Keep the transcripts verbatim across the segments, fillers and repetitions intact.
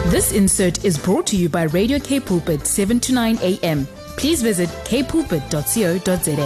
This insert is brought to you by Radio K Pulpit, seven to nine a m. Please visit k pulpit dot co dot za.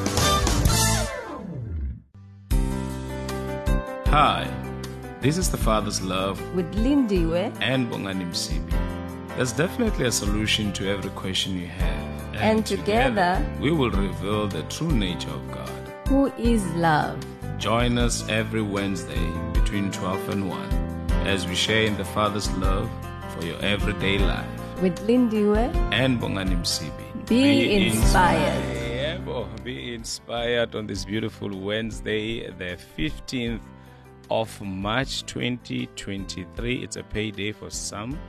Hi, this is The Father's Love with Lindiwe and Bongani Msibi. There's definitely a solution to every question you have. And, and together, together, we will reveal the true nature of God, who is love. Join us every Wednesday between twelve and one as we share in the Father's love for your everyday life. With Lindiwe and Bongani Msibi. Be, be inspired. inspired. Be inspired on this beautiful Wednesday, the fifteenth of March twenty twenty-three. It's a payday for some.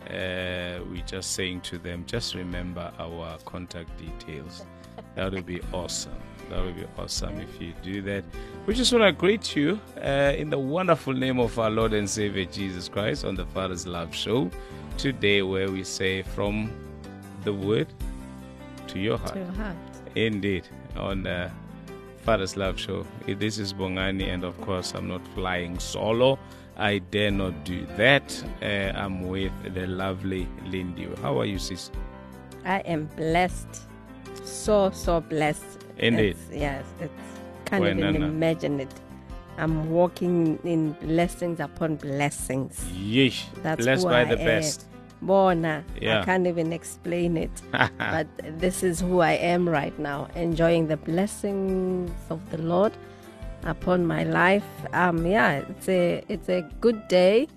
Uh, we're just saying to them, just remember our contact details. That would be awesome. That would be awesome if you do that. We just want to greet you uh, in the wonderful name of our Lord and Savior Jesus Christ on the Father's Love Show today, where we say from the word to your heart. To your heart. Indeed, on the Father's Love Show. This is Bongani, and of course, I'm not flying solo. I dare not do that. Uh, I'm with the lovely Lindiwe. How are you, sis? I am blessed. So, so blessed. Indeed. It's, yes, it's can't Well, even Nana. imagine it. I'm walking in blessings upon blessings. Yeesh. That's Blessed who by I the am. best. Bona, Yeah. I can't even explain it. But this is who I am right now, enjoying the blessings of the Lord upon my life. Um, yeah, it's a it's a good day.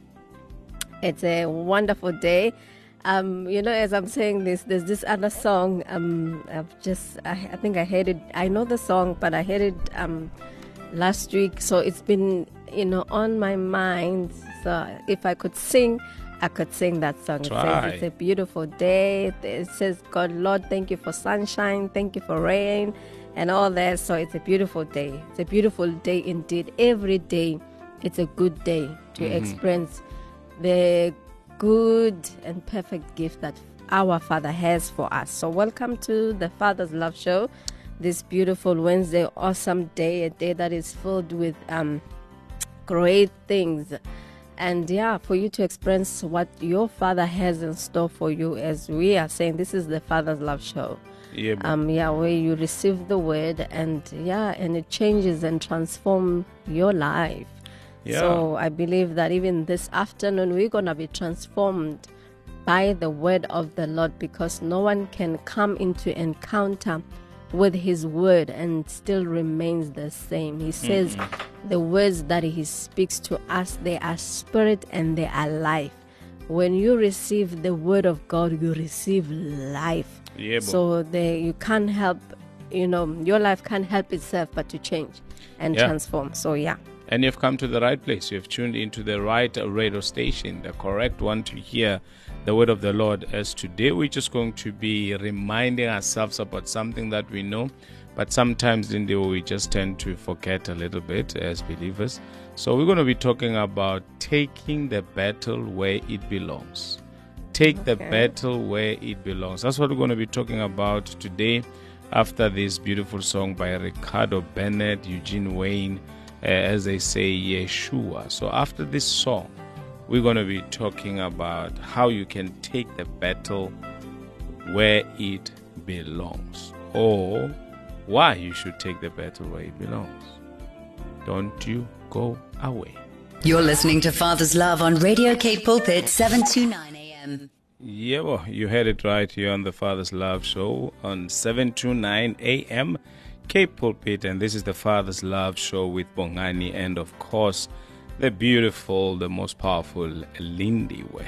It's a wonderful day. Um, you know, as I'm saying this, there's this other song. Um, I've just, I, I think I heard it. I know the song, but I heard it um last week, so it's been, you know, on my mind. So if I could sing, I could sing that song. It Try. says it's a beautiful day. It says, God, Lord, thank you for sunshine, thank you for rain, and all that. So it's a beautiful day. It's a beautiful day indeed. Every day, it's a good day to Mm-hmm. experience the good and perfect gift that our Father has for us. So welcome to the Father's Love Show. This beautiful Wednesday, awesome day, a day that is filled with um, great things. And yeah, for you to experience what your Father has in store for you, as we are saying, this is the Father's Love Show. Yeah, Um, yeah, where you receive the word, and yeah, and it changes and transforms your life. Yeah. So I believe that even this afternoon we're gonna be transformed by the word of the Lord, because no one can come into encounter with his word and still remains the same. He says mm-hmm. the words that he speaks to us, they are spirit and they are life. When you receive the word of God, you receive life. Yeah, so they, you can't help, you know, your life can't help itself but to change and yeah. transform. So yeah. And you've come to the right place. You've tuned into the right radio station, the correct one to hear the word of the Lord. As today, we're just going to be reminding ourselves about something that we know, but sometimes in the we just tend to forget a little bit as believers. So we're going to be talking about taking the battle where it belongs. Take okay. the battle where it belongs. That's what we're going to be talking about today, after this beautiful song by Ricardo Bennett, Eugene Wayne, Uh, as they say, Yeshua. So after this song, we're going to be talking about how you can take the battle where it belongs, or why you should take the battle where it belongs. Don't you go away. You're listening to Father's Love on Radio K Pulpit, seven to nine a m. Yeah, well, you heard it right here on the Father's Love Show on seven to nine a m K Pulpit, and this is the Father's Love Show with Bongani, and of course the beautiful, the most powerful Lindiwe.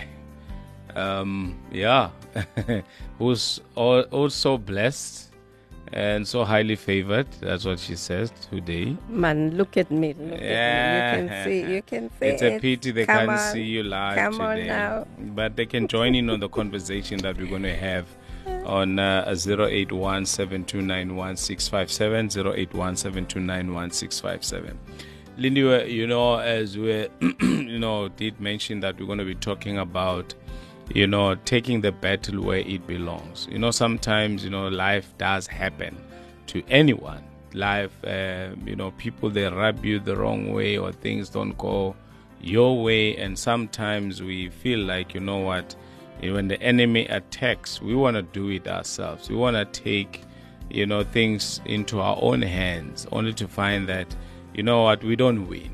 Um, yeah, who's also blessed and so highly favored. That's what she says today. Man, look at me. Look yeah. at me. You can see. You can see. It's a pity they Come can't on. see you live Come today. on now. But they can join in on the conversation that we're going to have on uh, zero eight one, seven two nine one, six five seven, zero eight one, seven two nine one, six five seven. Lindiwe, you know, as we, you know, did mention that we're going to be talking about, you know, taking the battle where it belongs. You know, sometimes, you know, life does happen to anyone. Life, uh, you know, people, they rub you the wrong way, or things don't go your way, and sometimes we feel like, you know what, when the enemy attacks, we want to do it ourselves. We want to take, you know, things into our own hands, only to find that, you know what, we don't win.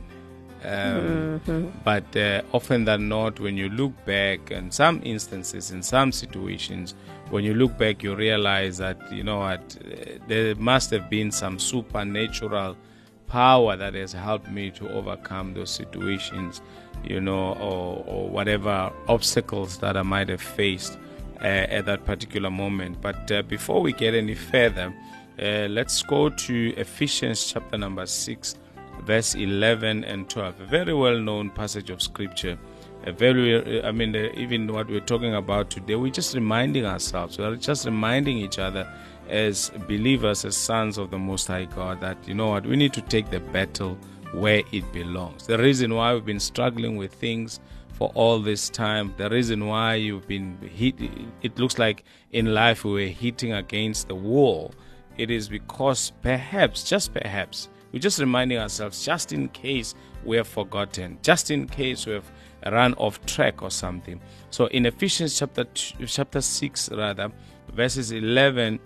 Um, mm-hmm. But uh, often than not, when you look back, in some instances, in some situations, when you look back, you realize that, you know what, there must have been some supernatural power that has helped me to overcome those situations, you know, or, or whatever obstacles that I might have faced uh, at that particular moment. But uh, before we get any further, uh, let's go to Ephesians chapter number six, verse eleven and twelve, a very well-known passage of scripture. A very, I mean, uh, even what we're talking about today, we're just reminding ourselves, we're just reminding each other as believers, as sons of the Most High God, that, you know what, we need to take the battle where it belongs. The reason why we've been struggling with things for all this time, the reason why you've been hit, it looks like in life we were hitting against the wall, it is because perhaps, just perhaps, we're just reminding ourselves, just in case we have forgotten, just in case we have run off track or something. So in Ephesians chapter two, chapter six, rather, verses eleven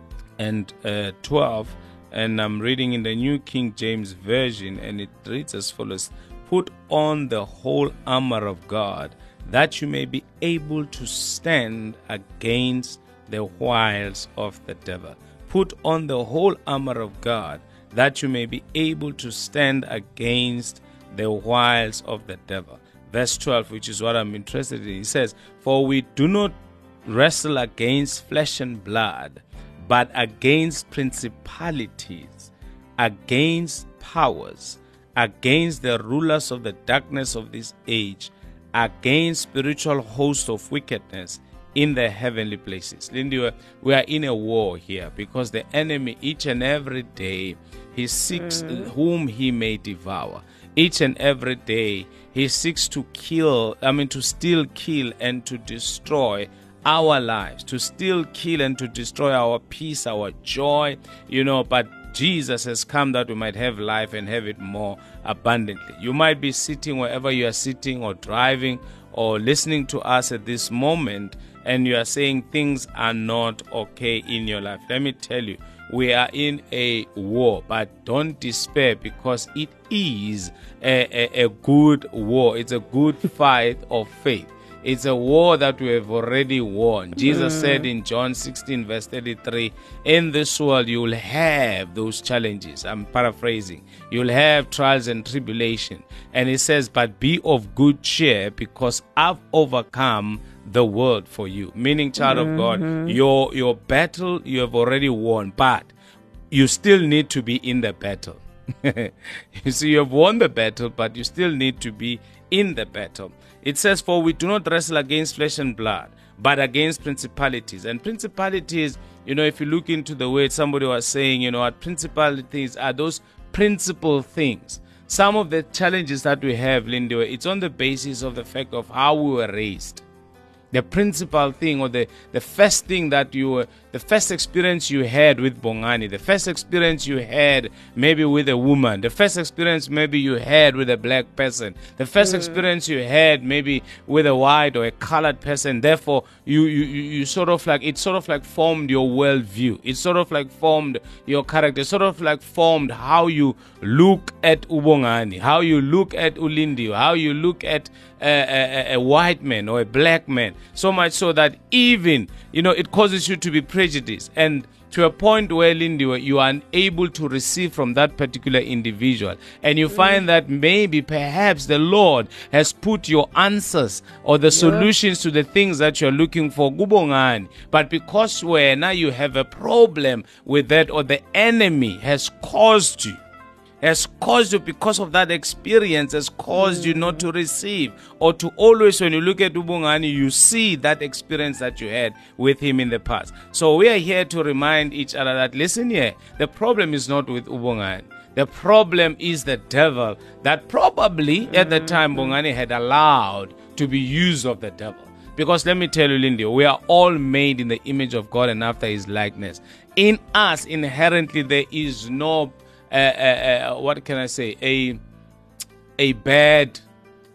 and uh, twelve, and I'm reading in the New King James Version, and it reads as follows: "Put on the whole armor of God, that you may be able to stand against the wiles of the devil." Put on the whole armor of God, that you may be able to stand against the wiles of the devil. Verse twelve, which is what I'm interested in, he says, "For we do not wrestle against flesh and blood, but against principalities, against powers, against the rulers of the darkness of this age, against spiritual hosts of wickedness in the heavenly places." Lindy, we are in a war here, because the enemy, each and every day, he seeks mm. whom he may devour. Each and every day, he seeks to kill, I mean, to steal, kill, and to destroy our lives, to steal, kill, and to destroy our peace, our joy, you know, but Jesus has come that we might have life and have it more abundantly. You might be sitting wherever you are sitting, or driving, or listening to us at this moment, and you are saying things are not okay in your life. Let me tell you, we are in a war, but don't despair, because it is a, a, a good war. It's a good fight of faith. It's a war that we have already won. Jesus mm. said in John sixteen, verse thirty-three, "In this world you will have those challenges." I'm paraphrasing. You'll have trials and tribulation. And he says, "But be of good cheer, because I've overcome the world for you." Meaning, child mm-hmm. of God, your your battle you have already won, but you still need to be in the battle. You see, you have won the battle, but you still need to be in the battle. It says, "For we do not wrestle against flesh and blood, but against principalities." And principalities, you know, if you look into the word, somebody was saying, you know, what principalities are those principal things. Some of the challenges that we have, Lindy, it's on the basis of the fact of how we were raised. The principal thing, or the, the first thing that you were, the first experience you had with Bongani, the first experience you had maybe with a woman, the first experience maybe you had with a black person, the first mm. experience you had maybe with a white or a colored person. Therefore, you, you, you sort of like, it sort of like formed your worldview. It sort of like formed your character, sort of like formed how you look at Ubongani, how you look at Ulindio, how you look at a, a, a white man or a black man. So much so that even, you know, it causes you to be prejudiced, and to a point where, Lindy, you are unable to receive from that particular individual. And you find that maybe perhaps the Lord has put your answers or the yeah. solutions to the things that you're looking for, Gubongani. But because when now you have a problem with that, or the enemy has caused you, has caused you, because of that experience, has caused mm. you not to receive, or to always, when you look at Ubongani, you see that experience that you had with him in the past. So we are here to remind each other that, listen here, the problem is not with Ubongani. The problem is the devil that probably mm. at the time Bongani had allowed to be used of the devil. Because let me tell you, Lindy, we are all made in the image of God and after his likeness. In us, inherently, there is no Uh, uh, uh, what can I say, a a bad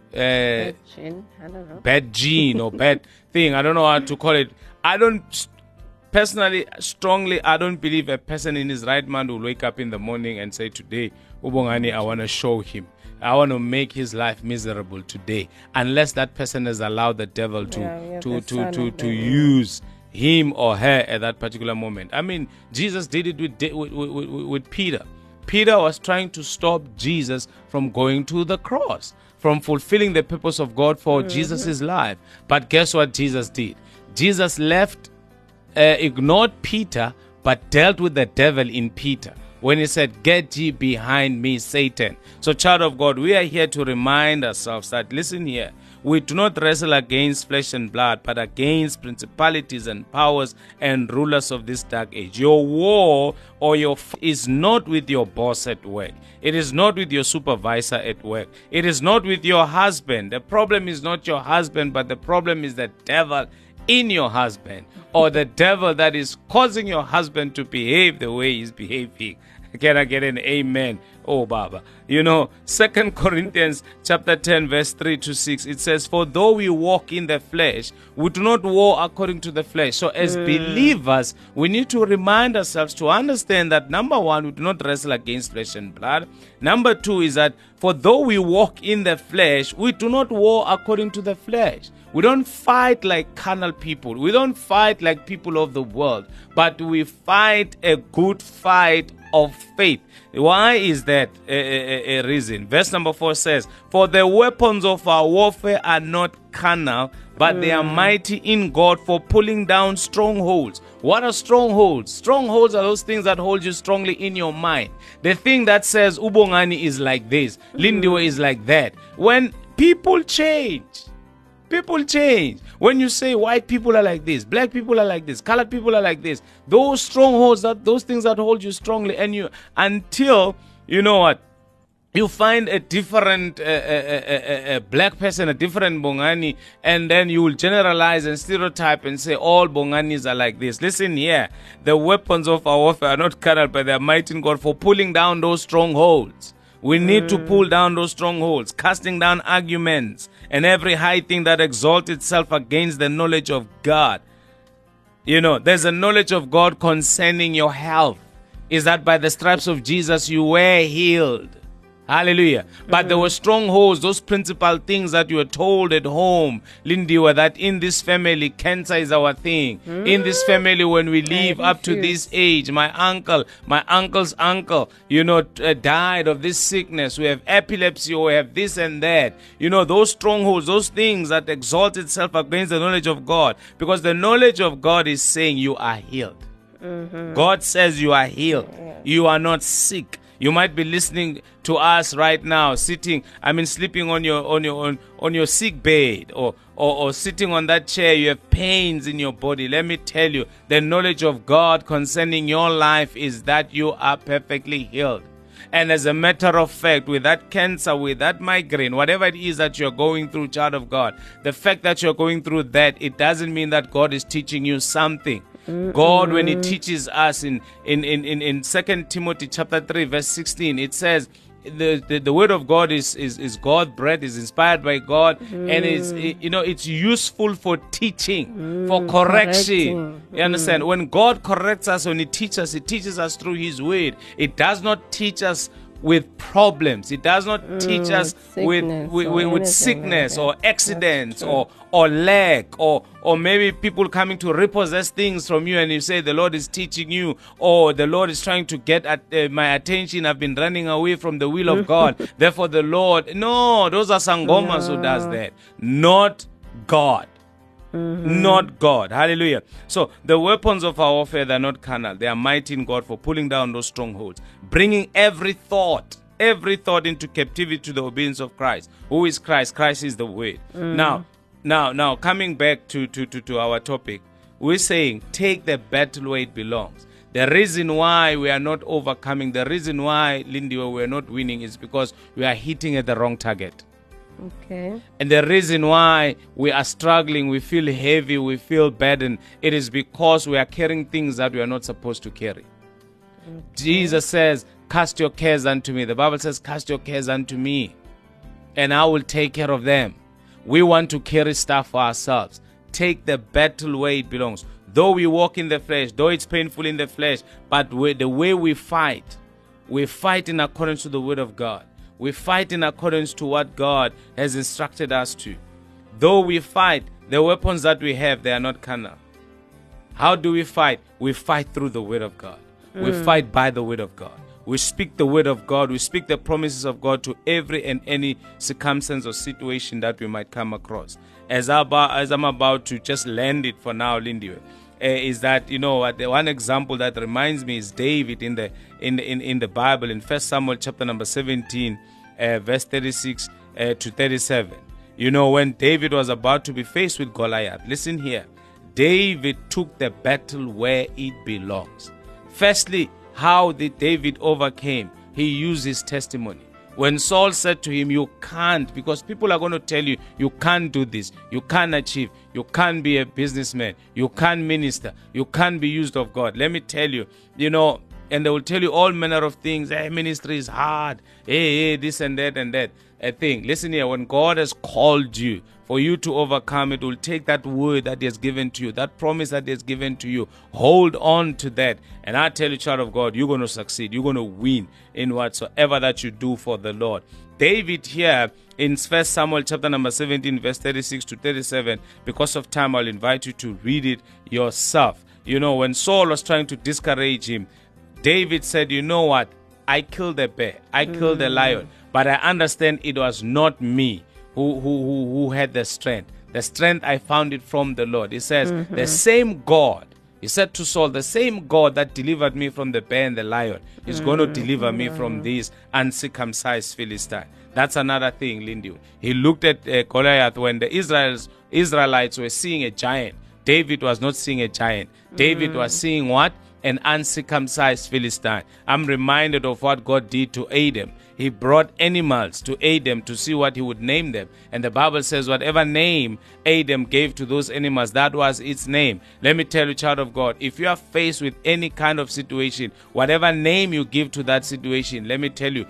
uh, Gene, I don't know. bad gene or bad thing. I don't know how to call it. I don't personally, strongly, I don't believe a person in his right mind will wake up in the morning and say, today, Ubongani, I want to show him. I want to make his life miserable today, unless that person has allowed the devil to Yeah, to to to, to use him or her at that particular moment. I mean, Jesus did it with, with, with, with Peter. Peter was trying to stop Jesus from going to the cross, from fulfilling the purpose of God for mm-hmm. Jesus' life. But guess what Jesus did? Jesus left, uh, ignored Peter, but dealt with the devil in Peter when he said, get ye behind me, Satan. So, child of God, we are here to remind ourselves that, listen here, we do not wrestle against flesh and blood, but against principalities and powers and rulers of this dark age. Your war or your f- is not with your boss at work. It is not with your supervisor at work. It is not with your husband. The problem is not your husband, but the problem is the devil in your husband, or the devil that is causing your husband to behave the way he's behaving. Can I get an amen? Oh, Baba. You know, Second Corinthians chapter ten, verse three to six, it says, for though we walk in the flesh, we do not war according to the flesh. So as mm. believers, we need to remind ourselves to understand that, number one, we do not wrestle against flesh and blood. Number two is that, for though we walk in the flesh, we do not war according to the flesh. We don't fight like carnal people. We don't fight like people of the world, but we fight a good fight of faith. Why is that a, a, a reason? Verse number four says, for the weapons of our warfare are not carnal, but mm. they are mighty in God for pulling down strongholds. What are strongholds? Strongholds are those things that hold you strongly in your mind. The thing that says Ubongani is like this, mm. Lindiwe is like that. When people change, people change. When you say white people are like this, black people are like this, colored people are like this, those strongholds, that those things that hold you strongly, and you until you know what, you find a different uh, uh, uh, uh, black person, a different Bongani, and then you will generalize and stereotype and say all Bonganis are like this. Listen here, the weapons of our warfare are not carnal, but they are mighty in God for pulling down those strongholds. We need mm. to pull down those strongholds, casting down arguments and every high thing that exalts itself against the knowledge of God. You know, there's a knowledge of God concerning your health. Is that by the stripes of Jesus you were healed. Hallelujah. But mm. there were strongholds, those principal things that you were told at home, Lindiwe, that in this family, cancer is our thing. Mm. In this family, when we live up to this age, my uncle, my uncle's uncle, you know, uh, died of this sickness. We have epilepsy, or we have this and that. You know, those strongholds, those things that exalt itself against the knowledge of God. Because the knowledge of God is saying you are healed. Mm-hmm. God says you are healed. Yeah. You are not sick. You might be listening to us right now, sitting, I mean, sleeping on your on your on, on your sick bed, or, or or sitting on that chair. You have pains in your body. Let me tell you, the knowledge of God concerning your life is that you are perfectly healed. And as a matter of fact, with that cancer, with that migraine, whatever it is that you're going through, child of God, the fact that you're going through that, it doesn't mean that God is teaching you something. God, when he teaches us in in in in, in Second Timothy chapter three, verse sixteen, it says the, the the word of God is is is God bread, is inspired by God, mm. and is, you know, it's useful for teaching, mm, for correction. Correcting. You understand? Mm. When God corrects us, when he teaches us, he teaches us through his word. It does not teach us with problems. It does not mm, teach us with with, with, with sickness like or accidents or or lack or or maybe people coming to repossess things from you, and you say the Lord is teaching you, or the Lord is trying to get at uh, my attention. I've been running away from the will of God. Therefore the Lord, no, those are sangomas no. who does that, not God. Mm-hmm. Not God. Hallelujah. So the weapons of our warfare, they're not carnal. They are mighty in God for pulling down those strongholds, bringing every thought, every thought into captivity to the obedience of Christ. Who is Christ? Christ is the word. Mm. Now, now, now, coming back to, to, to, to our topic, we're saying take the battle where it belongs. The reason why we are not overcoming, the reason why, Lindiwe, we are not winning is because we are hitting at the wrong target. Okay. And the reason why we are struggling, we feel heavy, we feel burdened, it is because we are carrying things that we are not supposed to carry. Okay. Jesus says, cast your cares unto me. The Bible says, cast your cares unto me. and I will take care of them. We want to carry stuff for ourselves. Take the battle where it belongs. Though we walk in the flesh, though it's painful in the flesh, but the way we fight, we fight in accordance to the word of God. We fight in accordance to what God has instructed us to. Though we fight, the weapons that we have, they are not carnal. How do we fight? We fight through the word of God. Mm. We fight by the word of God. We speak the word of God. We speak the promises of God to every and any circumstance or situation that we might come across. As, I about, as I'm about to just land it for now, Lindy, uh, is that, you know, the one example that reminds me is David in the in the, in, in the Bible in First Samuel chapter number seventeen, uh, verse thirty-six uh, to thirty-seven. You know, when David was about to be faced with Goliath, listen here. David took the battle where it belongs. Firstly, how did David overcame? He used his testimony. When Saul said to him, you can't, because people are going to tell you, you can't do this, you can't achieve, you can't be a businessman, you can't minister, you can't be used of God. Let me tell you, you know, and they will tell you all manner of things. Hey, ministry is hard. Hey, hey, this and that and that. A thing. Listen here, when God has called you, for you to overcome, it will take that word that He has given to you, that promise that He has given to you. Hold on to that. And I tell you, child of God, you're going to succeed. You're going to win in whatsoever that you do for the Lord. David here in First Samuel chapter number seventeen, verse thirty-six to thirty-seven, because of time, I'll invite you to read it yourself. You know, when Saul was trying to discourage him, David said, you know what? I killed a bear. I killed a lion. But I understand it was not me who, who, who, who had the strength. The strength, I found it from the Lord. He says, mm-hmm. the same God, he said to Saul, the same God that delivered me from the bear and the lion is mm-hmm. going to deliver me from this uncircumcised Philistine. That's another thing, Lindy. He looked at uh, Goliath when the Israels, Israelites were seeing a giant. David was not seeing a giant. Mm-hmm. David was seeing what? An uncircumcised Philistine. I'm reminded of what God did to Adam. He brought animals to Adam to see what he would name them. And the Bible says whatever name Adam gave to those animals, that was its name. Let me tell you, child of God, if you are faced with any kind of situation, whatever name you give to that situation, let me tell you,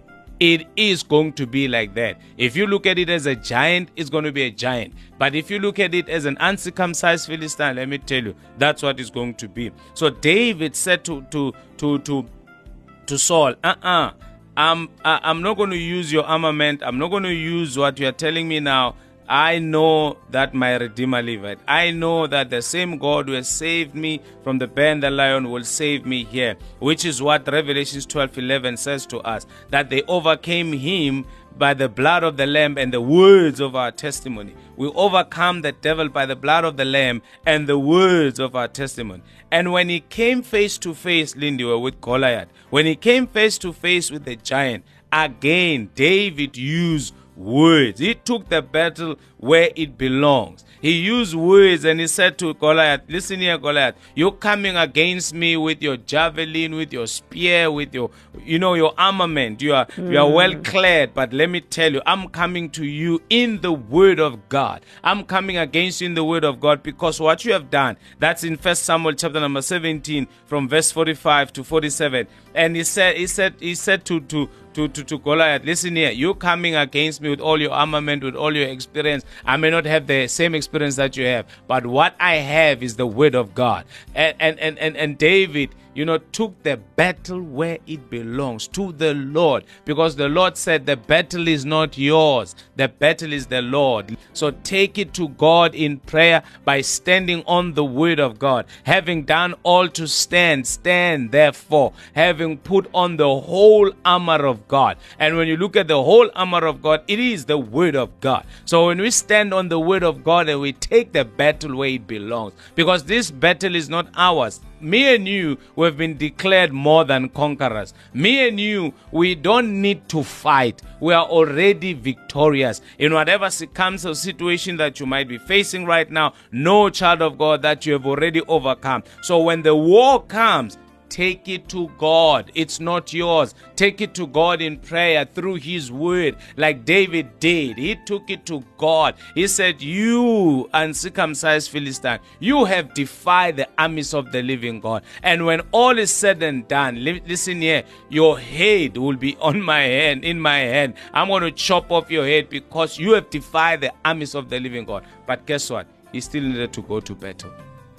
it is going to be like that. If you look at it as a giant, it's going to be a giant. But if you look at it as an uncircumcised Philistine, let me tell you, that's what it's going to be. So David said to to to to, to Saul, uh-uh, I'm, I'm not going to use your armament. I'm not going to use what you are telling me now. I know that my Redeemer liveth. I know that the same God who has saved me from the bear and the lion will save me here, which is what Revelation twelve eleven says to us, that they overcame him by the blood of the Lamb and the words of our testimony. We overcome the devil by the blood of the Lamb and the words of our testimony. And when he came face to face, Lindy, with Goliath, when he came face to face with the giant, again, David used words. He took the battle where it belongs. He used words and he said to Goliath, listen here, Goliath, you're coming against me with your javelin, with your spear, with your, you know, your armament. You are, mm. you are well clad, but let me tell you, I'm coming to you in the word of God. I'm coming against you in the word of God, because what you have done, that's in First Samuel chapter number seventeen, from verse forty-five to forty-seven. And he said, he said, he said to, to, To, to, to Goliath, listen here, you're coming against me with all your armament, with all your experience. I may not have the same experience that you have, but what I have is the word of God. And and and, and, and David, you know, took the battle where it belongs, to the Lord, because the Lord said the battle is not yours, the battle is the Lord. So take it to God in prayer by standing on the word of God. Having done all to stand, stand therefore, having put on the whole armor of God. And when you look at the whole armor of God, it is the word of God. So when we stand on the word of God and we take the battle where it belongs, because this battle is not ours. Me and you, we've been declared more than conquerors. Me and you, we don't need to fight. We are already victorious. In whatever circumstance or situation that you might be facing right now, know, child of God, that you have already overcome. So when the war comes, take it to God. It's not yours. Take it to God in prayer through his word, like David did. He took it to God. He said, you uncircumcised Philistine, you have defied the armies of the living God. And when all is said and done, li- listen here, your head will be on my hand, in my hand. I'm going to chop off your head because you have defied the armies of the living God. But guess what? He still needed to go to battle.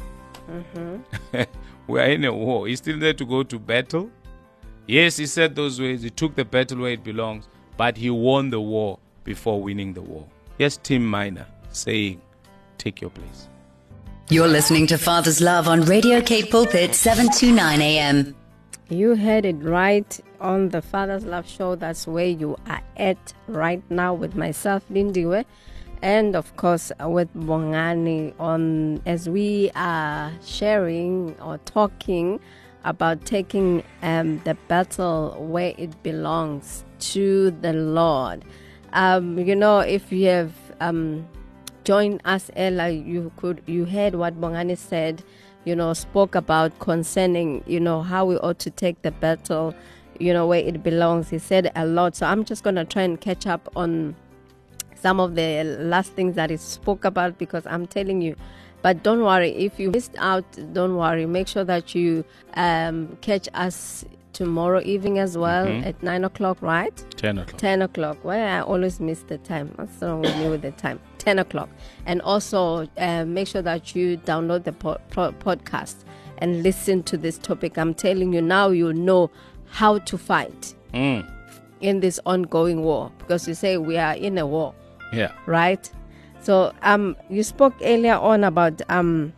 Mm-hmm. We are in a war. He still needed to go to battle. Yes, he said those ways. He took the battle where it belongs. But he won the war before winning the war. Yes, Tim Miner saying, take your place. You're listening to Father's Love on Radio Cape Pulpit, seven twenty-nine A M. You heard it right on the Father's Love Show. That's where you are at right now with myself, Lindiwe, and of course with Bongani, on as we are sharing or talking about taking um, the battle where it belongs to the Lord. Um, you know, if you have um, joined us earlier, you could you heard what Bongani said. You know, spoke about concerning, you know, how we ought to take the battle, you know, where it belongs. He said a lot. So I'm just going to try and catch up on some of the last things that he spoke about, because I'm telling you. But don't worry, if you missed out, don't worry. Make sure that you um, catch us tomorrow evening as well, mm-hmm. at nine o'clock, right? ten o'clock. ten o'clock. Well, I always miss the time. What's wrong with me with the time? ten o'clock. And also uh, make sure that you download the po- po- podcast and listen to this topic. I'm telling you now, you know how to fight mm. in this ongoing war, because you say we are in a war. Yeah. Right? So um, you spoke earlier on about, um,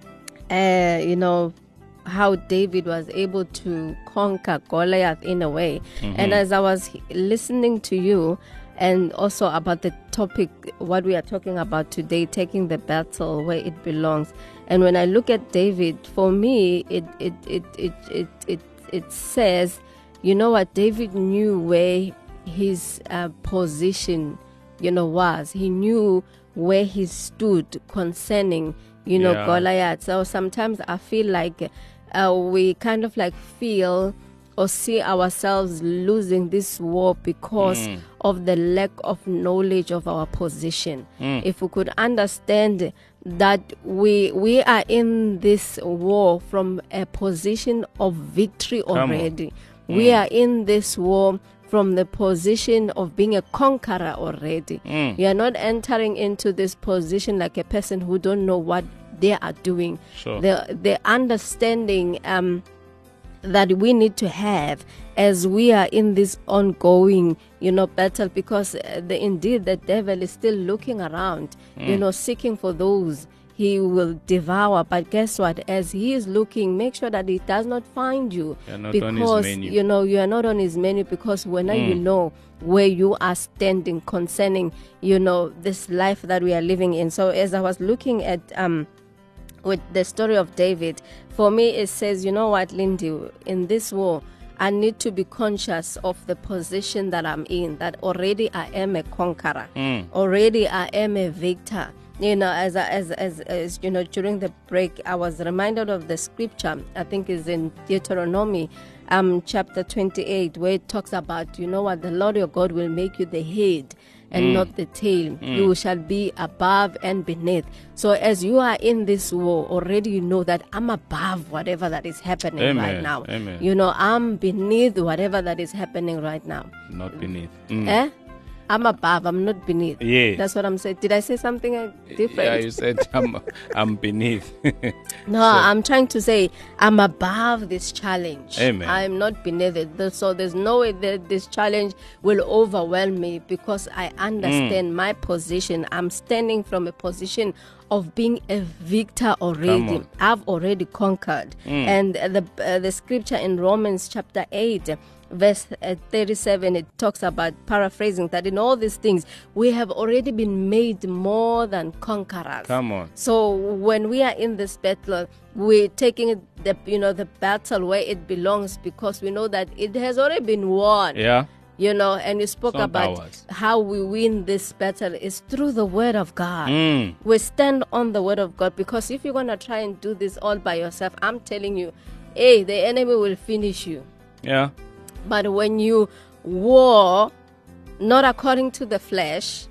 uh, you know, how David was able to conquer Goliath in a way. Mm-hmm. And as I was listening to you, and also about the topic, what we are talking about today, taking the battle where it belongs. And when I look at David, for me, it it it it it it, it says, you know what, David knew where his uh, position, you know, was. He knew where he stood concerning, you know, yeah. Goliath. So sometimes I feel like uh, we kind of like feel or see ourselves losing this war because mm. of the lack of knowledge of our position. Mm. If we could understand that we we are in this war from a position of victory already. Mm. We are in this war from the position of being a conqueror already. Mm. You are not entering into this position like a person who don't know what they are doing. Sure. The the understanding um, that we need to have as we are in this ongoing, you know, battle, because uh, the, indeed the devil is still looking around, mm. you know, seeking for those he will devour. But guess what? As he is looking, make sure that he does not find you, not because you know you are not on his menu. Because when mm. you know where you are standing concerning, you know, this life that we are living in. So as I was looking at um. with the story of David, for me it says, you know what, Lindy, in this war, I need to be conscious of the position that I'm in, that already I am a conqueror, mm. already I am a victor. You know, as, as as as you know, during the break, I was reminded of the scripture, I think is in Deuteronomy um, chapter twenty-eight, where it talks about, you know what, the Lord your God will make you the head and mm. not the tail. Mm. You shall be above and beneath. So as you are in this war, already you know that I'm above whatever that is happening Amen. right now. Amen. You know, I'm beneath whatever that is happening right now. Not beneath. Mm. Eh? I'm above, I'm not beneath. Yeah. That's what I'm saying. Did I say something uh, different? Yeah, you said I'm, I'm beneath. No, so, I'm trying to say I'm above this challenge. Amen. I'm not beneath it. So there's no way that this challenge will overwhelm me, because I understand mm. my position. I'm standing from a position of being a victor already. I've already conquered. Mm. And the uh, the scripture in Romans chapter eight, verse thirty-seven, it talks about, paraphrasing, that in all these things we have already been made more than conquerors. Come on. So when we are in this battle, we're taking the you know the battle where it belongs, because we know that it has already been won. Yeah. You know, and you spoke Some about powers. how we win this battle is through the word of God. Mm. We stand on the word of God, because if you're going to try and do this all by yourself, I'm telling you, hey, the enemy will finish you. Yeah. But when you war not according to the flesh,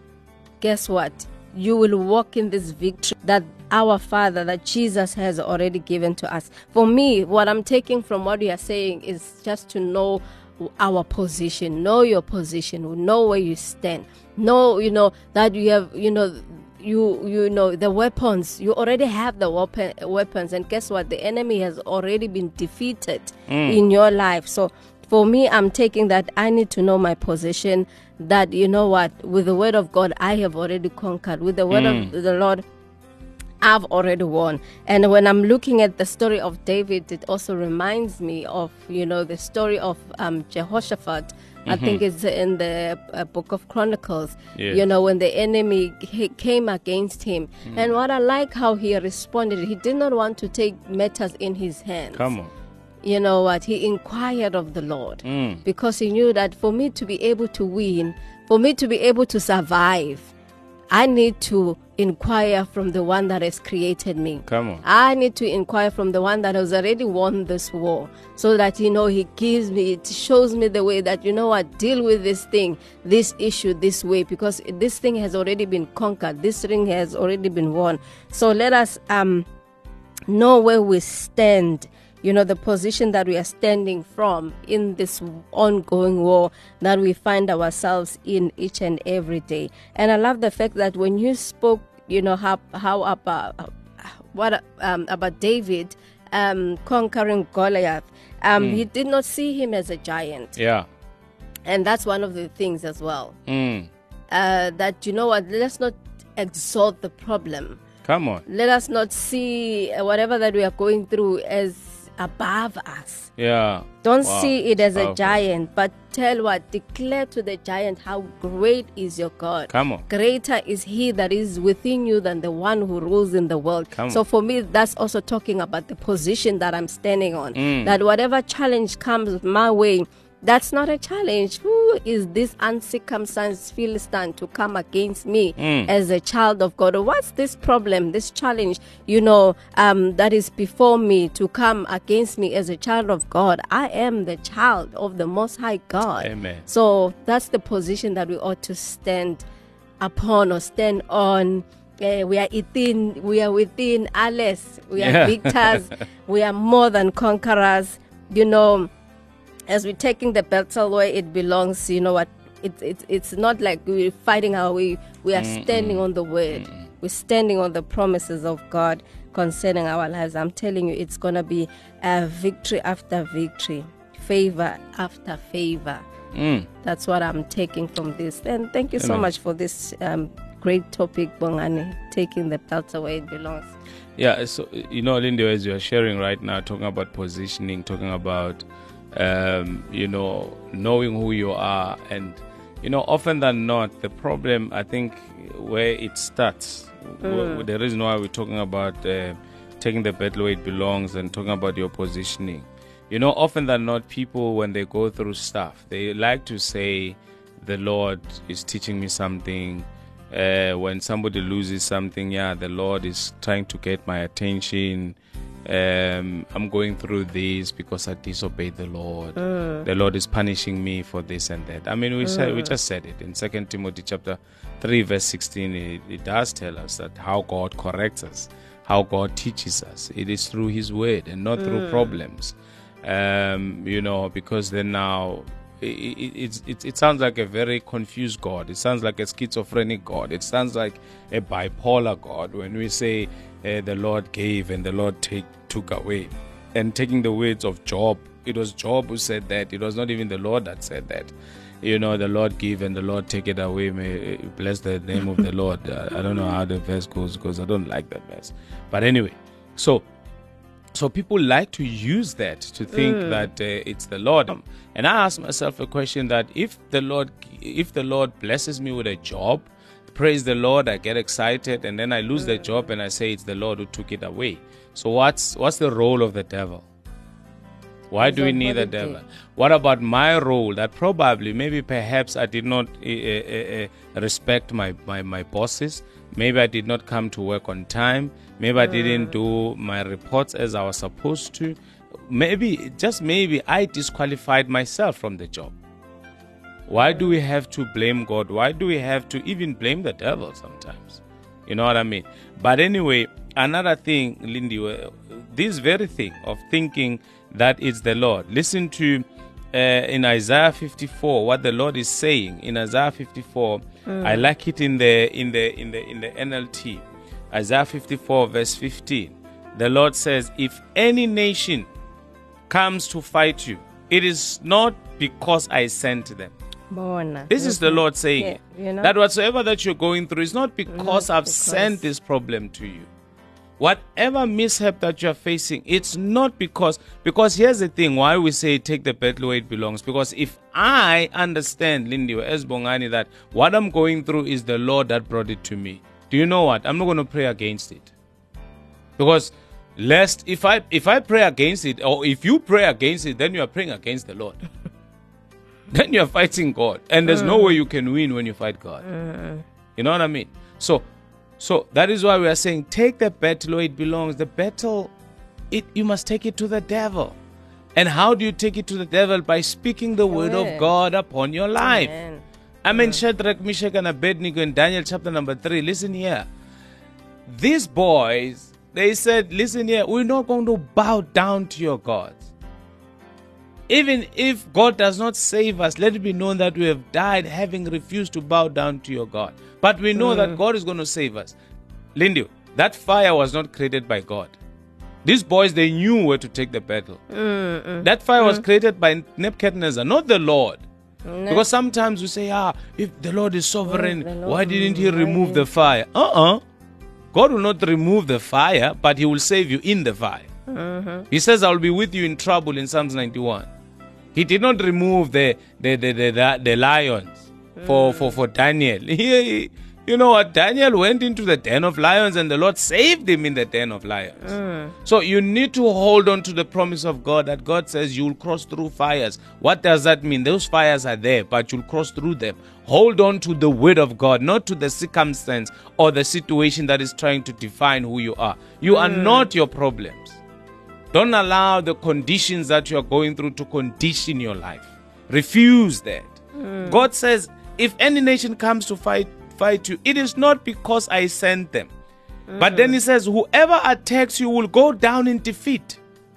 guess what? You will walk in this victory that our Father, that Jesus has already given to us. For me, what I'm taking from what you are saying is just to know our position, know your position, know where you stand, know, you know, that you have, you know, you you know the weapons. You already have the weapon weapons, and guess what? The enemy has already been defeated mm. in your life. So for me, I'm taking that I need to know my position, that, you know what, with the word of God, I have already conquered. With the word mm. of the Lord, I've already won. And when I'm looking at the story of David, it also reminds me of, you know, the story of um, Jehoshaphat. Mm-hmm. I think it's in the uh, book of Chronicles, yes. you know, when the enemy he came against him. Mm. And what I like how he responded, he did not want to take matters in his hands. Come on. You know what? He inquired of the Lord mm. because he knew that for me to be able to win, for me to be able to survive, I need to inquire from the one that has created me. Come on. I need to inquire from the one that has already won this war, so that, you know, he gives me, it shows me the way that, you know what, deal with this thing, this issue this way, because this thing has already been conquered. This thing has already been won. So let us um know where we stand, you know, the position that we are standing from in this ongoing war that we find ourselves in each and every day. And I love the fact that when you spoke, you know, how, how about, what, um, about David um, conquering Goliath, um, mm. he did not see him as a giant. Yeah. And that's one of the things as well. Mm. Uh, that, you know what, let's not exalt the problem. Come on. Let us not see whatever that we are going through as above us. Yeah. Don't wow. see it as Powerful. a giant, but tell what, declare to the giant how great is your God. Come on. Greater is he that is within you than the one who rules in the world. Come so on. for me, that's also talking about the position that I'm standing on. Mm. That whatever challenge comes my way, that's not a challenge. Who is this uncircumcised Philistine to come against me mm. as a child of God? Or what's this problem, this challenge, you know, um, that is before me to come against me as a child of God? I am the child of the Most High God. Amen. So that's the position that we ought to stand upon or stand on. Uh, we are within, we are within Alice. We are yeah. victors. We are more than conquerors. You know, as we're taking the battle where it belongs, you know what, it's it's it's not like we're fighting our way. We are Mm-mm. standing on the word. Mm-mm. We're standing on the promises of God concerning our lives. I'm telling you, it's going to be a victory after victory, favor after favor. Mm. That's what I'm taking from this. And thank you so Amen. much for this um, great topic, Bongani, taking the battle where it belongs. Yeah, so, you know, Lindy, as you are sharing right now, talking about positioning, talking about Um, you know, knowing who you are. And, you know, often than not, the problem, I think, where it starts, mm. w- the reason why we're talking about uh, taking the battle where it belongs and talking about your positioning, you know, often than not, people, when they go through stuff, they like to say, the Lord is teaching me something. Uh, when somebody loses something, yeah, the Lord is trying to get my attention. Um, I'm going through this because I disobeyed the Lord. Mm. The Lord is punishing me for this and that. I mean, we mm. said, we just said it in Second Timothy chapter three, verse sixteen. It, it does tell us that how God corrects us, how God teaches us. It is through His word and not mm. through problems. Um, you know, because then now it, it, it, it sounds like a very confused God. It sounds like a schizophrenic God. It sounds like a bipolar God when we say uh, the Lord gave and the Lord take, took away. And taking the words of Job, it was Job who said that. It was not even the Lord that said that. You know, the Lord give and the Lord take it away. May bless the name of the Lord. I, I don't know how the verse goes because I don't like that verse. But anyway, so so people like to use that to think mm. that uh, it's the Lord. And I ask myself a question that if the Lord, if the Lord blesses me with a job, praise the Lord, I get excited, and then I lose mm. the job and I say it's the Lord who took it away. So what's what's the role of the devil? Why do we need the devil? What about my role that probably, maybe perhaps I did not uh, uh, uh, respect my, my, my bosses. Maybe I did not come to work on time. Maybe I didn't do my reports as I was supposed to. maybe, just maybe, I disqualified myself from the job. Why do we have to blame God? Why do we have to even blame the devil sometimes? You know what I mean? But anyway, another thing, Lindy, this very thing of thinking that it's the Lord. Listen to uh, in Isaiah fifty-four what the Lord is saying in Isaiah fifty-four. Mm. I like it in the in the in the in the N L T. Isaiah fifty-four verse fifteen. The Lord says, "If any nation comes to fight you, it is not because I sent them." Bona. This is the Lord saying yeah, you know? that whatsoever that you're going through is not because Not I've because. sent this problem to you. Whatever mishap that you're facing, it's not because, because here's the thing, why we say take the battle where it belongs. Because if I understand, Lindy, as Bongani, that what I'm going through is the Lord that brought it to me, do you know what? I'm not going to pray against it. Because lest, if I, if I pray against it, or if you pray against it, then you are praying against the Lord. Then you're fighting God. And there's mm. no way you can win when you fight God. Mm. You know what I mean? So, so that is why we are saying, take the battle where it belongs. The battle, it you must take it to the devil. And how do you take it to the devil? By speaking the word of God upon your life. Amen. I mean, mm. Shadrach, Meshach, and Abednego in Daniel chapter number three. Listen here. These boys, they said, listen here, we're not going to bow down to your gods. Even if God does not save us, let it be known that we have died having refused to bow down to your God. But we know mm. that God is going to save us. Lindy, that fire was not created by God. These boys, they knew where to take the battle. Mm-mm. That fire mm. was created by Nebuchadnezzar, not the Lord. No. Because sometimes we say, ah, if the Lord is sovereign, Lord, why didn't he remove the fire? Uh-uh. God will not remove the fire, but he will save you in the fire. Mm-hmm. He says, I will be with you in trouble in Psalms ninety-one. He did not remove the the the the, the, the lions for, mm. for, for Daniel. He, you know what? Daniel went into the den of lions and the Lord saved him in the den of lions. Mm. So you need to hold on to the promise of God that God says you will cross through fires. What does that mean? Those fires are there, but you'll cross through them. Hold on to the word of God, not to the circumstance or the situation that is trying to define who you are. You mm. are not your problems. Don't allow the conditions that you are going through to condition your life. Refuse that. Mm. God says, if any nation comes to fight fight you, it is not because I sent them. Mm. But then he says, whoever attacks you will go down in defeat.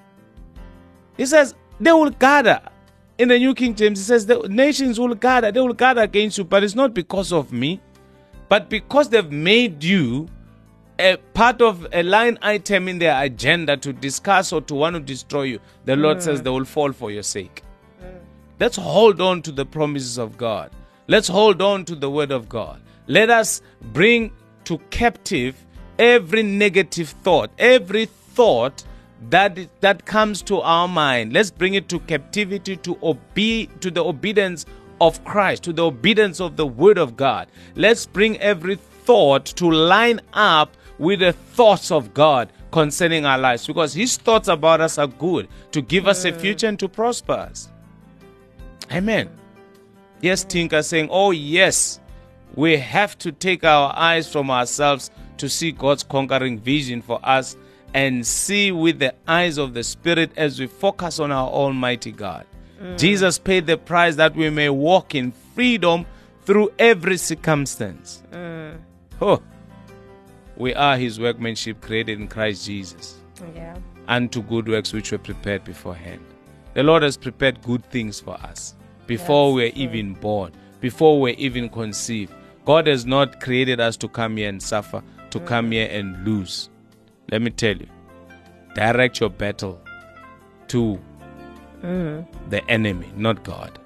He says, they will gather. In the New King James, he says, the nations will gather. They will gather against you, but it's not because of me, but because they've made you a part of a line item in their agenda to discuss or to want to destroy you. The Lord mm. says they will fall for your sake. Mm. Let's hold on to the promises of God. Let's hold on to the word of God. Let us bring to captive every negative thought, every thought that that comes to our mind. Let's bring it to captivity, to obe- to the obedience of Christ, to the obedience of the word of God. Let's bring every thought to line up with the thoughts of God concerning our lives, because his thoughts about us are good, to give mm. us a future and to prosper us. Amen. Yes, Tinka saying, oh yes, we have to take our eyes from ourselves to see God's conquering vision for us and see with the eyes of the Spirit as we focus on our Almighty God. Mm. Jesus paid the price that we may walk in freedom through every circumstance. Mm. Oh, we are his workmanship created in Christ Jesus. Yeah. Unto good works which were prepared beforehand. The Lord has prepared good things for us before we were even born, before we were even conceived. God has not created us to come here and suffer, to mm. come here and lose. Let me tell you, direct your battle to mm. the enemy, not God.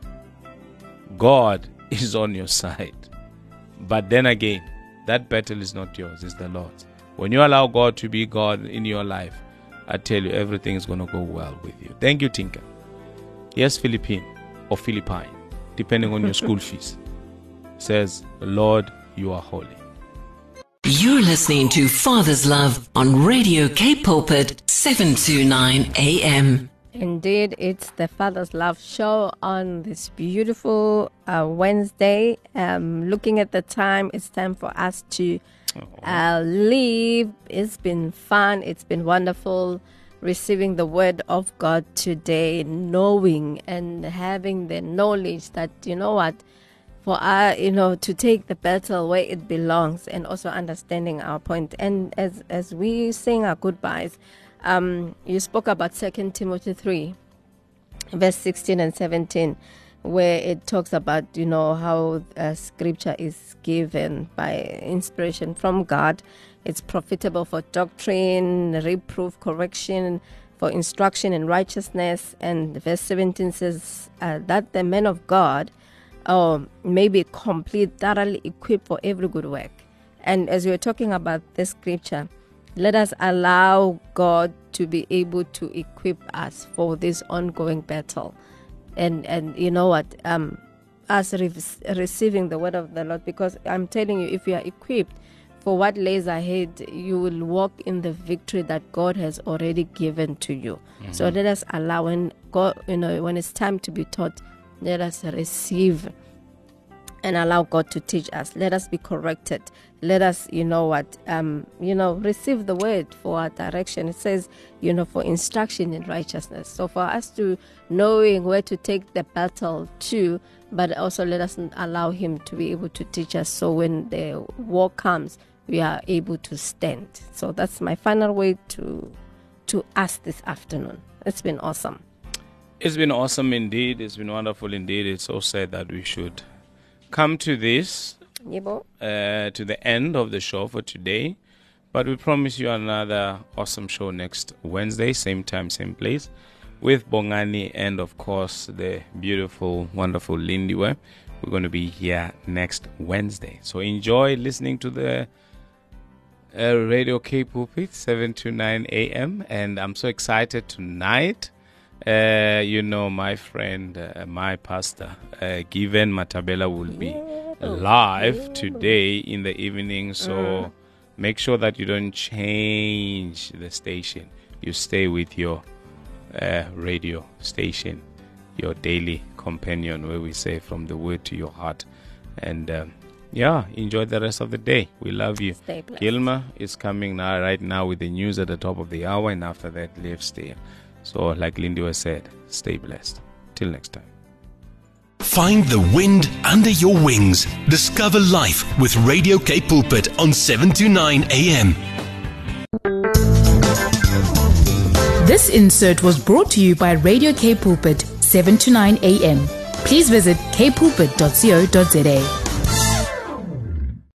God is on your side. But then again, that battle is not yours, it's the Lord's. When you allow God to be God in your life, I tell you, everything is going to go well with you. Thank you, Tinka. Yes, Philippine or Philippine, depending on your school fees, says, Lord, you are holy. You're listening to Father's Love on Radio K Pulpit, seven twenty-nine A M. Indeed, it's the Father's Love show on this beautiful uh, Wednesday. Um, looking at the time, it's time for us to uh, leave. It's been fun. It's been wonderful. receiving the word of God today, knowing and having the knowledge that, you know what, for our, you know, to take the battle where it belongs, and also understanding our point. And as as we sing our goodbyes, um, you spoke about Second Timothy three, verse sixteen and seventeen, where it talks about, you know, how uh, scripture is given by inspiration from God. It's profitable for doctrine, reproof, correction, for instruction in righteousness. And verse seventeen says uh, that the man of God uh, may be complete, thoroughly equipped for every good work. And as we're talking about this scripture, let us allow God to be able to equip us for this ongoing battle. And, and you know what, um, us re- receiving the word of the Lord, because I'm telling you, if you are equipped for what lays ahead, you will walk in the victory that God has already given to you. Mm-hmm. So let us allow, when God, you know, when it's time to be taught, let us receive and allow God to teach us. Let us be corrected. Let us, you know what, um, you know, receive the word for our direction. It says, you know, for instruction in righteousness. So for us to knowing where to take the battle to, but also let us allow Him to be able to teach us. So when the war comes, we are able to stand. So that's my final word to to us this afternoon. It's been awesome. It's been awesome indeed. It's been wonderful indeed. It's so sad that we should come to this, uh, to the end of the show for today. But we promise you another awesome show next Wednesday, same time, same place, with Bongani and, of course, the beautiful, wonderful Lindiwe. We're going to be here next Wednesday. So enjoy listening to the uh, Radio K Pulpit, seven to nine a.m. And I'm so excited tonight. Uh, you know, my friend, uh, my pastor, uh, Given Matabela will be live today in the evening. So mm. make sure that you don't change the station. You stay with your uh, radio station, your daily companion, where we say from the word to your heart. And um, yeah, enjoy the rest of the day. We love you. Stay blessed. Gilma is coming now, right now, with the news at the top of the hour, and after that, live stay. So, like Lindy was said, stay blessed. Till next time. Find the wind under your wings. Discover life with Radio K Pulpit on seven to nine a.m. This insert was brought to you by Radio K Pulpit, seven to nine a.m. Please visit k pulpit dot co dot za.